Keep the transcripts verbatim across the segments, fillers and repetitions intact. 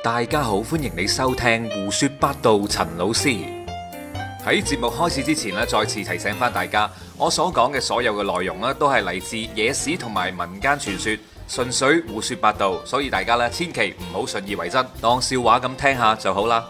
大家好，歡迎你收聽胡說八道。陳老師喺節目開始之前咧，再次提醒翻大家，我所講嘅所有嘅內容咧，都係嚟自野史同埋民間傳說，純粹胡說八道，所以大家咧千祈唔好信以為真，當笑話咁聽下就好啦。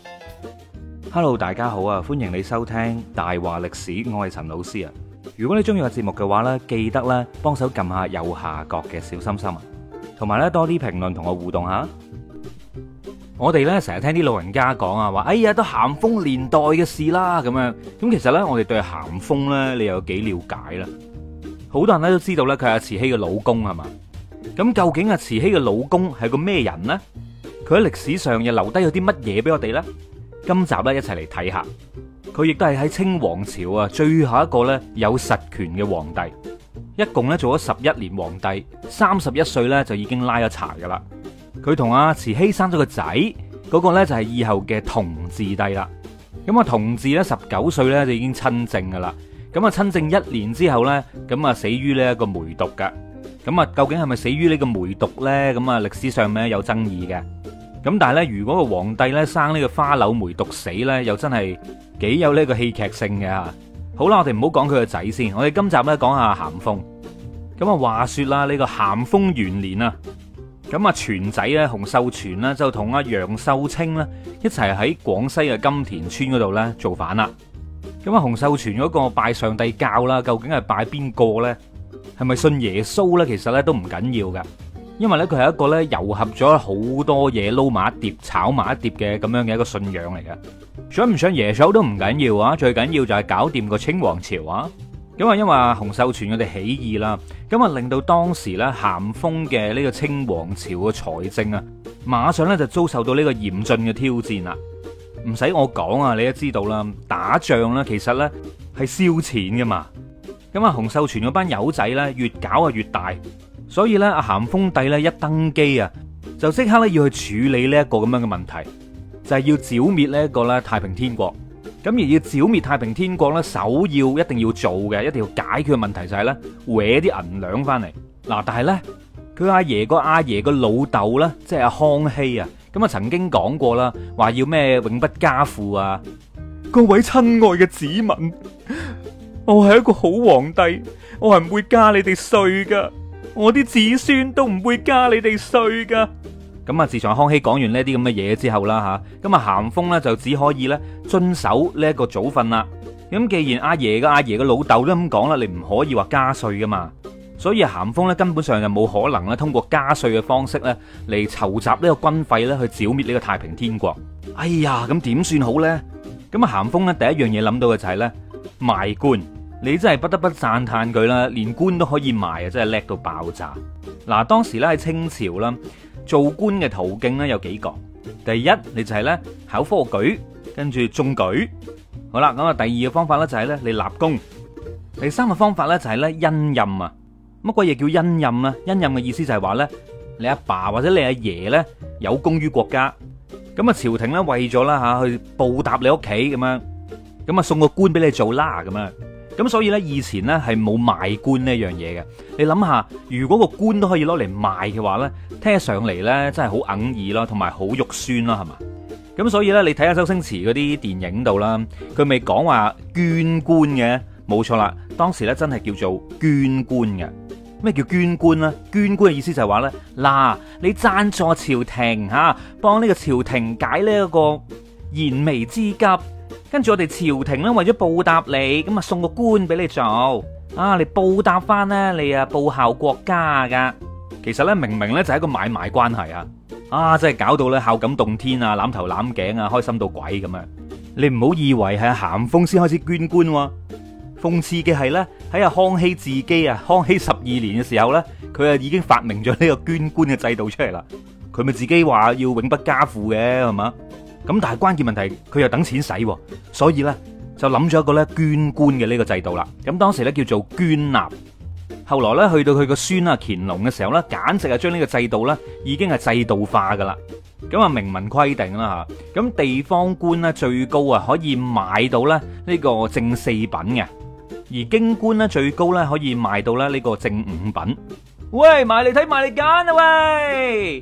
Hello， 大家好啊，歡迎你收聽大話歷史，我係陳老師啊。如果你中意個節目嘅話呢，記得咧幫手撳下右下角嘅小心心啊，同埋咧多啲評論同我互動下。我哋咧成日聽啲老人家講啊，話哎呀都咸豐年代嘅事啦咁樣。咁其實呢，我哋對咸豐呢，你有幾了解啦？好多人咧都知道咧，佢係阿慈禧嘅老公係嘛？咁究竟阿慈禧嘅老公係個咩人呢？佢喺歷史上又留低咗啲乜嘢俾我哋呢？今集咧一齊嚟睇下。佢亦都係喺清王朝啊最後一個咧有實權嘅皇帝，一共咧做咗十一年皇帝，三十一歲咧就已經拉咗柴噶啦。佢同阿慈禧生咗個仔，嗰個咧就係以後嘅同治帝啦。咁啊同治咧十九歲咧就已經親政噶啦。咁啊親政一年之後咧，咁啊死於呢一個梅毒噶。咁啊究竟係咪死於呢個梅毒咧？咁啊歷史上面有爭議嘅。咁但係咧，如果個皇帝咧生呢個花柳梅毒死咧，又真係幾有呢個戲劇性嘅吓。好啦，我哋唔好講佢個仔先，我哋今集咧講下咸豐。咁啊，話說啦，呢個咸豐元年啊，咁啊全仔咧洪秀全呢，就同阿楊秀清呢一齊喺廣西嘅金田村嗰度咧造反啦。咁啊洪秀全嗰個拜上帝教啦，究竟係拜邊個咧？係咪信耶穌咧？其實咧都唔緊要噶。因為咧佢係一個咧糅合咗好多嘢撈埋一碟炒埋一碟嘅咁樣嘅一個信仰嚟嘅，想唔想耶穌都唔緊要啊，最緊要就係搞掂個清王朝啊。咁啊因為洪秀全佢哋起義啦，咁啊令到當時咧咸豐嘅呢個清王朝嘅財政啊，馬上咧就遭受到呢個嚴峻嘅挑戰啦。唔使我講啊，你都知道啦，打仗咧其實咧係燒錢噶嘛。咁啊洪秀全嗰班友仔咧越搞啊越大。所以咧，阿咸豐帝咧一登基啊，就即刻咧要去處理呢一個咁樣嘅問題，就係要剿滅呢一個咧太平天國。咁而要剿滅太平天國咧，首要一定要做嘅，一定要解決嘅問題就係咧，搲啲銀兩翻嚟。嗱，但係咧，佢阿爺個阿爺個老豆咧，即係阿康熙啊，咁啊曾經講過啦，話要咩永不加賦啊。各位親愛嘅子民，我係一個好皇帝，我係唔會加你哋稅噶。我啲子孫都唔會加你哋稅噶。咁啊，自從康熙講完呢啲咁嘅嘢之後啦吓，咁啊咸豐咧就只可以咧遵守呢一個祖訓啦。咁既然阿爺嘅阿爺嘅老豆都咁講啦，你唔可以話加稅噶嘛。所以咸豐咧根本上就冇可能咧通過加稅嘅方式咧嚟籌集呢個軍費咧去剿滅呢個太平天國。哎呀，咁點算好咧？咁啊咸豐咧第一樣嘢諗到嘅就係咧賣官。你真係不得不讚嘆佢啦，連官都可以賣啊，真係叻到爆炸。嗱，當時咧喺清朝啦，做官嘅途徑咧有幾個。第一，你就係咧考科舉，跟住中舉。好啦，咁啊第二個方法咧就係咧你立功。第三個方法咧就係咧恩任啊。乜鬼嘢叫恩任啊？恩任嘅意思就係話咧你阿爸或者你阿爺咧有功於國家，咁啊朝廷咧為咗啦吓去報答你屋企咁樣，咁啊送個官俾你做啦咁樣。咁所以咧，以前咧係冇賣官呢樣嘢嘅。你諗下，如果個官都可以攞嚟賣嘅話咧，聽起上嚟咧真係好哽耳啦，同埋好肉酸啦，係嘛？咁所以咧，你睇下周星馳嗰啲電影度啦，佢未講話捐官嘅，冇錯啦。當時咧真係叫做捐官嘅。咩叫捐官咧？捐官嘅意思就係話咧，嗱，你贊助朝廷吓，幫呢個朝廷解呢一個燃眉之急。跟住我哋朝廷咧，為咗報答你，咁啊送個官俾你做，啊，你報答翻咧，你啊報效國家噶。其實咧，明明咧就係一個買賣關係啊，啊，真係搞到咧孝感動天啊，攬頭攬頸啊，開心到鬼咁樣。你唔好以為係咸豐先開始捐官喎，諷刺嘅係咧喺阿康熙自己啊，康熙十二年嘅時候咧，佢啊已經發明咗呢個捐官嘅制度出嚟啦。佢咪自己話要永不加賦嘅係嘛？咁但係關鍵問題，佢又等錢使，所以咧就諗咗一個咧捐官嘅呢個制度啦。咁當時咧叫做捐納，後來咧去到佢個孫啊乾隆嘅時候咧，簡直係將呢個制度咧已經係制度化噶啦。咁啊明文規定啦吓，咁地方官咧最高啊可以買到咧呢個正四品嘅，而京官咧最高咧可以賣到咧呢個正五品。喂，埋嚟睇埋嚟揀啊喂！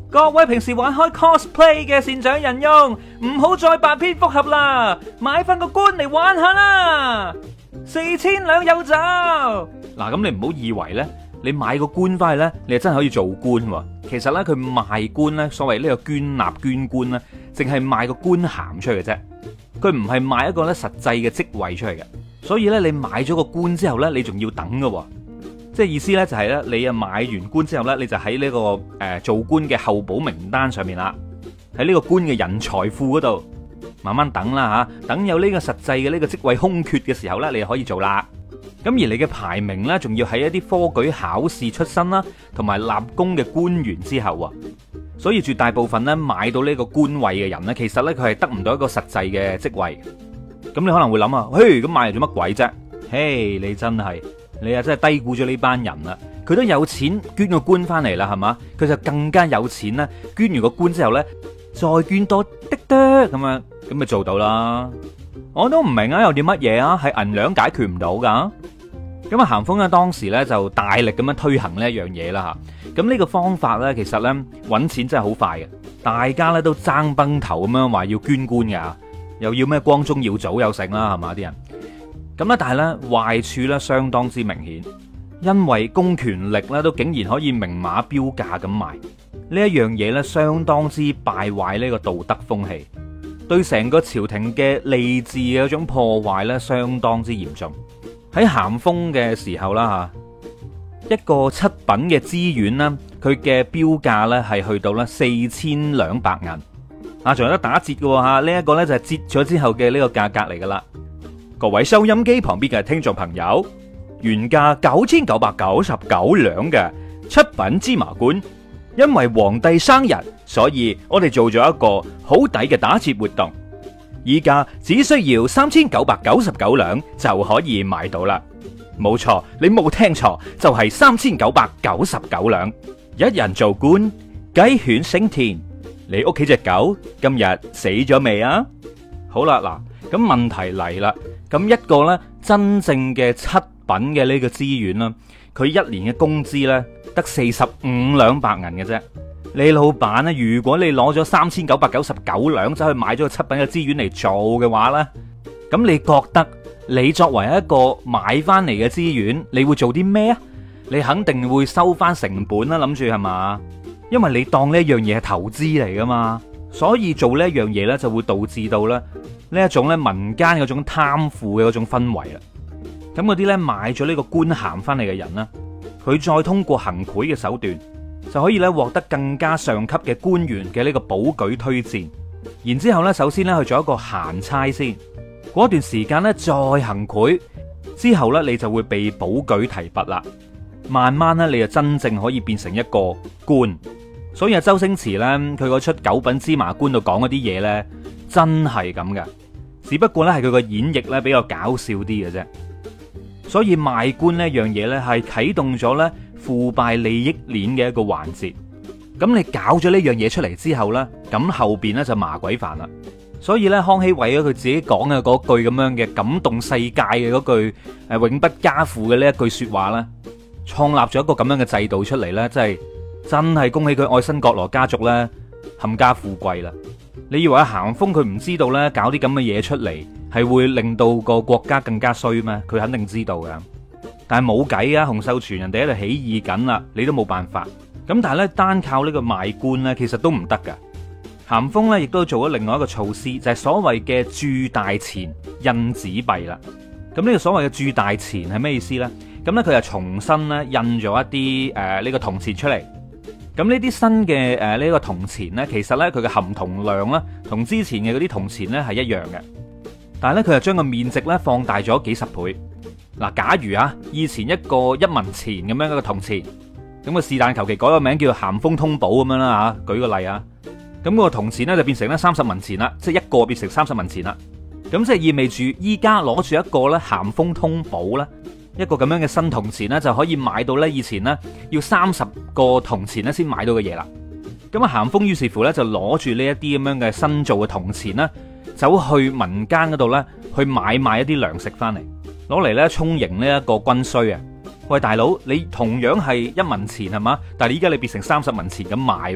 各位平時玩開 cosplay 嘅善長人翁，唔好再扮蝙蝠俠啦，買翻個棺嚟玩下啦，四千兩有找。嗱，咁你唔好以為呢，你買個棺翻去呢，你係真係可以做官喎。其實呢，佢賣棺呢，所謂呢個捐納捐棺呢，淨係賣個官銜出嚟嘅啫，佢唔係賣一個咧實際嘅職位出嚟嘅。所以呢，你買咗個棺之後呢，你仲要等㗎喎。即係意思咧，就係咧，你啊買完官之後咧，你就喺呢個誒做官嘅候補名單上面啦，喺呢個官嘅人才庫嗰度慢慢等啦吓，等有呢個實際嘅呢個職位空缺嘅時候咧，你就可以做啦。咁而你嘅排名咧，仲要喺一啲科舉考試出身啦，同埋立功嘅官員之後啊。所以絕大部分咧買到呢個官位嘅人咧，其實咧佢係得唔到一個實際嘅職位。咁你可能會諗啊，嘿，咁買嚟做乜鬼啫？嘿，你真係〜你啊真係低估咗呢班人啦！佢都有錢捐個官翻嚟啦，係嘛？佢就更加有錢啦！捐完個官之後呢，再捐多啲啲咁樣，咁咪做到啦！我都唔明啊，有啲乜嘢啊，係銀兩解決唔到噶？咁啊，咸豐咧當時呢就大力咁樣推行呢一樣嘢啦吓。咁呢個方法呢，其實呢搵錢真係好快嘅，大家呢都爭崩頭咁樣話要捐官噶，又要咩光宗耀祖有成啦，係嘛啲人。咁咧，但係咧壞處咧相當之明顯，因為公權力咧都竟然可以明碼標價咁賣呢一樣嘢咧，相當之敗壞呢個道德風氣，對成個朝廷嘅吏治嘅嗰種破壞咧，相當之嚴重。喺咸豐嘅時候啦吓，一個七品嘅資源啦，佢嘅標價咧係去到咧四千兩百銀，啊，仲有得打折嘅吓，呢一個咧就係折咗之後嘅呢個價格嚟噶啦。各位收音機旁邊嘅聽眾朋友，原價九千九百九十九兩嘅七品芝麻官，因為皇帝生日，所以我哋做咗一個好抵嘅打折活動，依家只需要三千九百九十九兩就可以買到啦。冇錯，你冇聽錯，就係三千九百九十九兩，一人做官，雞犬升天。你屋企隻狗今日死咗未啊？好啦，嗱，咁問題嚟啦。咁一個咧真正嘅七品嘅呢個資源啦，佢一年嘅工資咧得四十五兩白銀嘅啫。你老闆咧，如果你攞咗三千九百九十九兩走去買咗個七品嘅資源嚟做嘅話咧，咁你覺得你作為一個買翻嚟嘅資源，你會做啲咩啊？你肯定會收翻成本啦，諗住係嘛？因為你當呢一樣嘢係投資嚟噶嘛，所以做呢一樣嘢咧就會導致到咧。呢一種咧民間嗰種貪腐嘅嗰種氛圍啦，咁嗰啲咧買咗呢個官銜翻嚟嘅人呢，佢再通過行賄嘅手段，就可以咧獲得更加上級嘅官員嘅呢個保舉推薦，然之後咧首先咧去做一個閒差先，嗰段時間咧再行賄，之後咧你就會被保舉提拔啦，慢慢咧你就真正可以變成一個官。所以啊，周星馳咧佢嗰出九品芝麻官度講嗰啲嘢咧。真係咁嘅，只不過咧係佢個演繹咧比較搞笑啲嘅啫。所以賣官呢樣嘢咧係啟動咗咧腐敗利益鏈嘅一個環節。咁你搞咗呢樣嘢出嚟之後咧，咁後邊咧就麻鬼煩啦。所以咧康熙為咗佢自己講嘅嗰句咁樣嘅感動世界嘅嗰句誒永不加賦嘅呢一句說話咧，創立咗一個咁樣嘅制度出嚟咧，真係真係恭喜佢愛新覺羅家族咧冚家富貴啦。你以為咸豐佢唔知道咧，搞啲咁嘅嘢出嚟係會令到個國家更加衰咩？佢肯定知道噶，但係冇計啊！洪秀全人哋喺度起義緊啦，你都冇辦法。咁但係咧，單靠呢個賣官咧，其實都唔得噶。咸豐咧亦都做咗另外一個措施，就係所謂嘅鑄大錢印紙幣啦。咁呢個所謂嘅鑄大錢係咩意思咧？咁咧佢就重新咧印咗一啲誒呢個銅錢出嚟。咁呢啲新嘅誒呢個銅錢呢，其實呢，佢嘅含銅量呢，同之前嘅嗰啲銅錢呢係一樣嘅，但係呢，佢就將個面值呢放大咗幾十倍。嗱，假如啊以前一個一文錢咁樣一個銅錢，咁個是但求其改個名叫咸豐通寶咁樣啦嚇，舉個例啊，咁個銅錢呢，就變成咧三十文錢啦，即係一個變成三十文錢啦。咁即係意味住依家攞住一個咧咸豐通寶咧。一個咁樣嘅新銅錢咧，就可以買到咧以前咧要三十個銅錢咧先買到嘅嘢啦。咁啊，咸豐於是乎咧就攞住呢一啲咁樣嘅新造嘅銅錢咧，走去民間嗰度咧去買賣一啲糧食翻嚟，攞嚟咧充盈呢一個軍需啊！喂，大佬，你同樣係一文錢係嘛？但係依家你變成三十文錢咁買，咁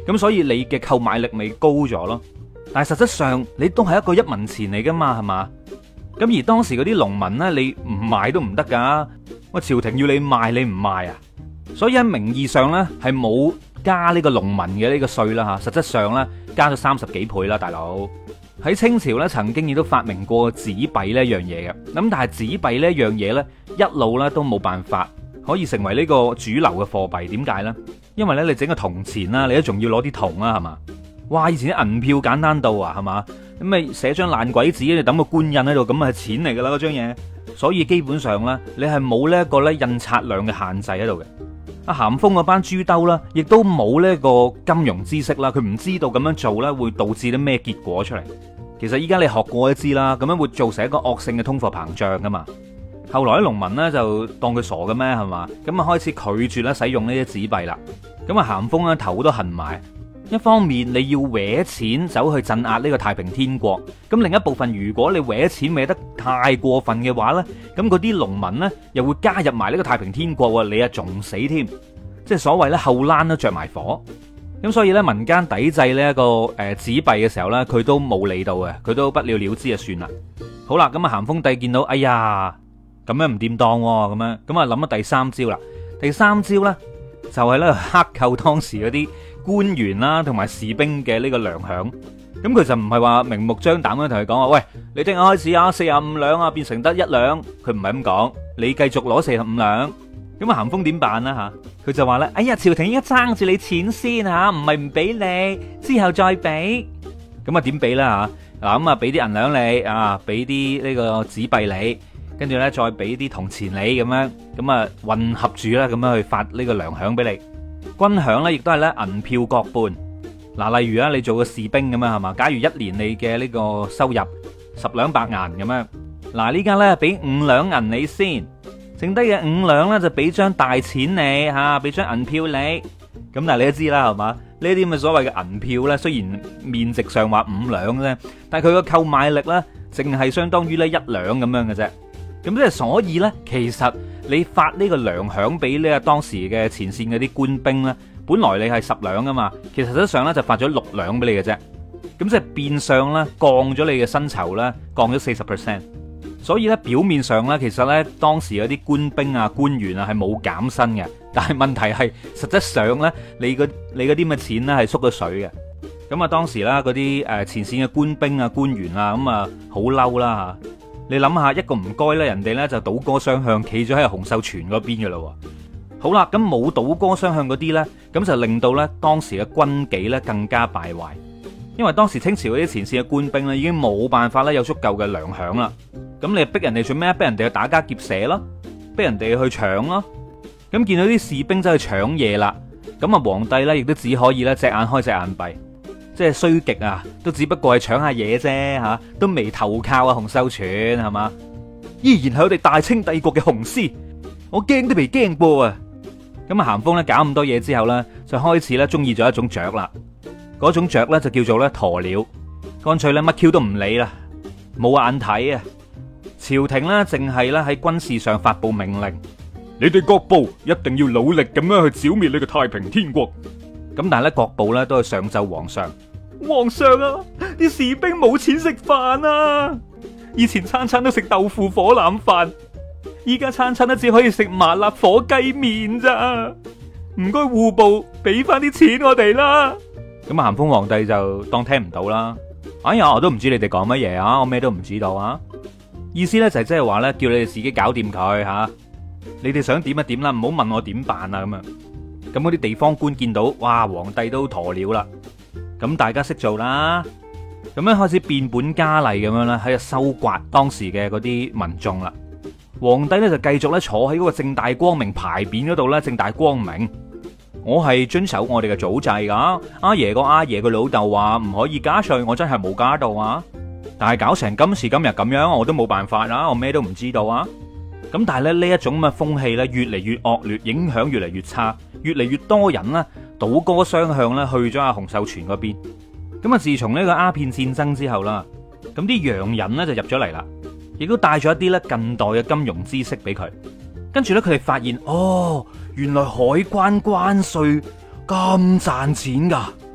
咁所以你嘅購買力咪高咗咯。但係實質上你都係一個一文錢嚟噶嘛，係嘛？咁而當時嗰啲農民呢，你唔賣都唔得噶，喂，朝廷要你賣你唔賣啊？所以喺名義上呢，係冇加呢個農民嘅呢個稅啦吓，實質上呢，加咗三十幾倍啦，大佬。喺清朝咧，曾經亦都發明過紙幣呢一樣嘢嘅，咁但係紙幣呢一樣嘢呢，一路咧都冇辦法可以成為呢個主流嘅貨幣。點解呢？因為咧你整個銅錢啦，你都仲要攞啲銅啦，係嘛？哇！以前啲銀票簡單到啊，係嘛？咁咪寫張爛鬼紙，你抌個官印喺度，咁係錢嚟噶啦嗰張嘢。所以基本上呢，你係冇呢一個咧印刷量嘅限制喺度嘅。阿咸豐嗰班豬兜啦，亦都冇呢個金融知識啦，佢唔知道咁樣做咧會導致啲咩結果出嚟。其實依家你學過都知啦，咁樣會造成一個惡性嘅通貨膨脹噶嘛。後來啲農民咧就當佢傻嘅咩，係嘛？咁啊開始拒絕咧使用呢啲紙幣啦。咁啊咸豐咧頭都痕埋。一方面你要搲錢走去鎮壓呢個太平天國，咁另一部分如果你搲錢搲得太過分嘅話呢，咁嗰啲農民呢又會加入埋呢個太平天國，你啊仲死添，即係所謂咧後欄都着埋火。咁所以呢，民間抵制呢一個誒紙幣嘅時候呢，佢都冇理到嘅，佢都不了了之就算啦。好啦，咁啊咸豐帝見到，哎呀咁樣唔掂當喎，咁樣咁啊諗咗第三招啦。第三招呢，就係咧克扣當時嗰啲官員啦，同埋士兵嘅呢個糧餉。咁佢就唔係話明目張膽咁同佢講話，喂，你聽日開始啊，四十五兩啊，變成得一兩。佢唔係咁講，你繼續攞四十五兩。咁啊，咸豐點辦啦吓？佢就話咧，哎呀，朝廷應該爭住你錢先吓，唔係唔俾你，之後再俾。咁啊，點俾啦吓？嗱，咁啊，俾啲銀兩你啊，俾啲呢個紙幣你，跟住咧再俾啲銅錢你咁樣，咁啊混合住啦，咁樣去發呢個糧餉俾你。軍餉咧，亦都係咧銀票各半。嗱，例如啊，你做個士兵咁樣係嘛？假如一年你嘅呢個收入十兩白銀咁樣，嗱呢家咧俾五兩銀你先，剩低嘅五兩咧就俾張大錢你吓，俾張銀票你。咁但係你都知啦係嘛？呢啲咁嘅所謂嘅銀票咧，雖然面值上話五兩啫，但係佢個購買力咧，淨係相當於咧一兩咁樣嘅啫。咁即係所以咧，其實你發呢個糧餉俾呢個當時嘅前線嗰啲官兵咧，本來你係十兩噶嘛，其實實質上咧就發咗六兩俾你嘅啫。咁即係變相咧降咗你嘅薪酬咧，降咗四十 percent。所以咧表面上咧，其實咧當時嗰啲官兵啊、官員啊係冇減薪嘅，但係問題係實質上咧，你個你嗰啲咁嘅錢咧係縮咗水嘅。咁啊當時啦嗰啲誒前線嘅官兵啊、官員啊，咁啊好嬲啦吓。你諗下，一個唔該咧，人哋咧就倒戈雙向，企咗喺洪秀全嗰邊嘅咯。好啦，咁冇倒戈雙向嗰啲咧，咁就令到咧當時嘅軍紀咧更加敗壞。因為當時清朝嗰啲前線嘅官兵咧已經冇辦法咧有足夠嘅糧餉啦。咁你逼人哋做咩？逼人哋去打家劫舍咯，逼人哋去搶咯。咁見到啲士兵走去搶嘢啦，咁啊皇帝咧亦都只可以咧隻眼開隻眼閉。即係衰極啊，都只不過係搶下嘢啫吓，都未投靠啊洪秀全係嘛，依然係我哋大清帝國嘅雄師，我驚都未驚過啊！咁啊咸豐咧搞咁多嘢之後咧，就開始咧中意咗一種雀啦，嗰種雀咧就叫做咧鴕鳥，乾脆咧乜 Q 都唔理啦，冇眼睇啊！朝廷咧淨係咧喺軍事上發布命令，你哋各部一定要努力咁樣去剿滅呢個太平天國。咁但係咧各部咧都係上奏皇上。皇上啊，啲士兵冇錢食飯啊！以前餐餐都食豆腐火腩飯，依家餐餐都只可以食麻辣火雞麵咋？唔該戶部俾翻啲錢我哋啦！咁啊咸豐皇帝就當聽唔到啦。哎呀，我都唔知你哋講乜嘢啊，我咩都唔知道啊！意思咧就係即係話咧，叫你哋自己搞掂佢吓，你哋想點就點啦，唔好問我點辦啊咁樣。咁嗰啲地方官見到，哇，皇帝都鴕鳥啦。咁大家識做啦，咁樣開始變本加厲咁樣咧，喺度收刮當時嘅嗰啲民眾啦。皇帝咧就繼續咧坐喺嗰個正大光明牌匾嗰度咧，正大光明，我係遵守我哋嘅祖制噶。阿爺個阿爺個老豆話唔可以加稅，我真係冇加到啊。但係搞成今時今日咁樣，我都冇辦法啦，我咩都唔知道啊。咁但係咧呢一種咁嘅風氣咧越嚟越惡劣，影響越嚟越差，越嚟越多人啦倒戈雙向咧去咗阿洪秀全嗰邊。咁啊自從呢個鴉片戰爭之後啦，咁啲洋人咧就入咗嚟啦，亦都帶咗一啲咧近代嘅金融知識俾佢。跟住咧佢哋發現，哦，原來海關關稅咁賺錢噶，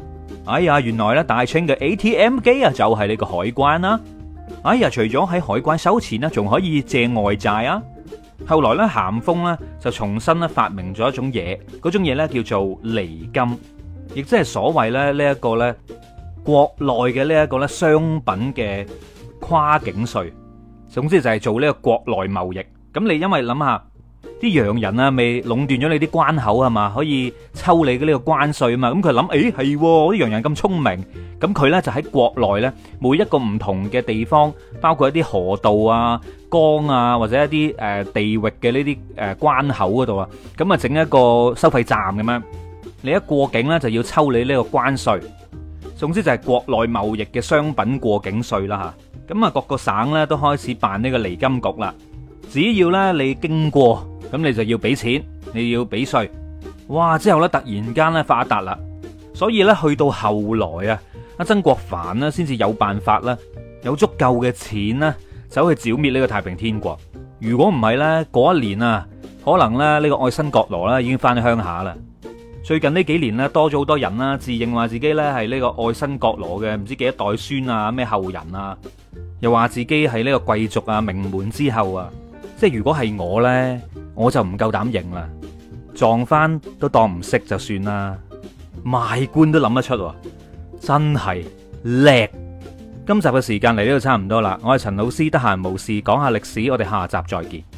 哎呀，原來咧大清嘅 A T M 機啊就係呢個海關啦。哎呀，除咗喺海關收錢啦，仲可以借外債啊。後來咧咸豐咧就重新咧發明咗一種嘢，嗰種嘢咧叫做離金，亦即係所謂咧呢一個咧國內嘅呢一個咧商品嘅跨境稅。總之就係做呢個國內貿易。咁你因為諗下啲洋人啊，未壟斷咗你啲關口係嘛，可以抽你嘅呢個關稅啊嘛。咁佢諗，誒係啲洋人咁聰明，咁佢咧就喺國內咧每一個唔同嘅地方，包括一啲河道啊、江啊，或者一啲誒地域嘅呢啲誒關口嗰度啊，咁啊整一個收費站咁樣，你一過境咧就要抽你呢個關稅。總之就係國內貿易嘅商品過境稅啦吓。咁啊各個省咧都開始辦呢個離金局啦。只要咧你經過，咁你就要俾錢，你要俾稅。哇！之後咧突然間咧發達啦，所以咧去到後來啊，阿曾國藩呢先至有辦法啦，有足夠嘅錢呢走去剿滅呢個太平天國。如果唔係咧，嗰一年啊，可能咧呢個愛新覺羅啦已經翻鄉下啦。最近呢幾年咧多咗好多人啦，自認話自己咧係呢個愛新覺羅嘅唔知幾多代孫啊，咩後人啊，又話自己係呢個貴族啊，名門之後啊。即係如果係我呢，我就唔夠膽認啦，撞翻都當唔識就算啦，賣官都諗得出，真係叻。今集嘅時間嚟呢度差唔多啦，我係陳老師，得閒無事講下歷史，我哋下集再見。